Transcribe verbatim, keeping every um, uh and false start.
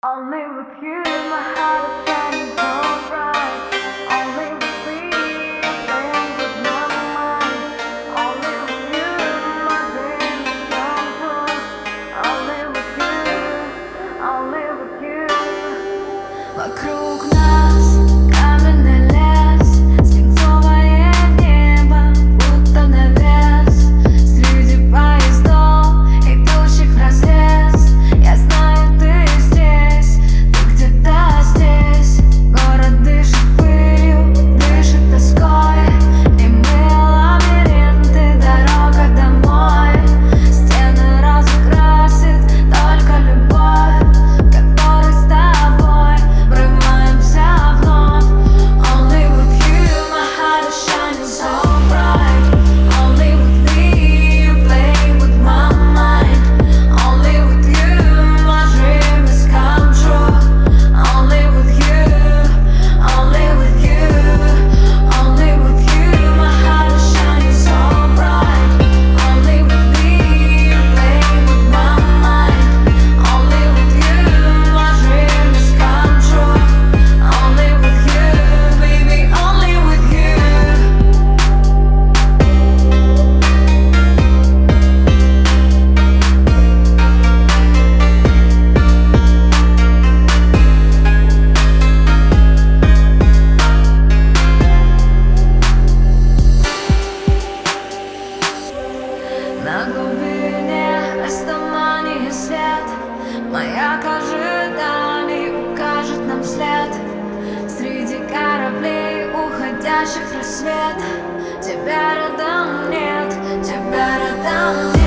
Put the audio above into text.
Only with you, my heart is shining so bright. Only with me, playing with my mind. Only with you, my dreams come true. Only with you, only with you. Вокруг нас каменный лес, свинцовое небо, будто навес. Среди поездов, идущих вразрез, я знаю, ты здесь, ты где-то здесь. Город дышит пылью, дышит тоской, и мы лабиринты, дорога домой. Стены разукрасит только любовь, которой с тобой врываемся вновь. Only with you, my heart is shining so bright. Only with me, you play with my mind. Only with you, my dream is come true. Only with you, only with you, only with you, my heart is shining so bright. Only with me, you play with my mind. Only with you, my dream is come true. Only with you, baby, only with you. На глубине растуманит свет, маяк ожиданий укажет нам след. Среди кораблей, уходящих в рассвет, тебя рядом нет, тебя рядом нет.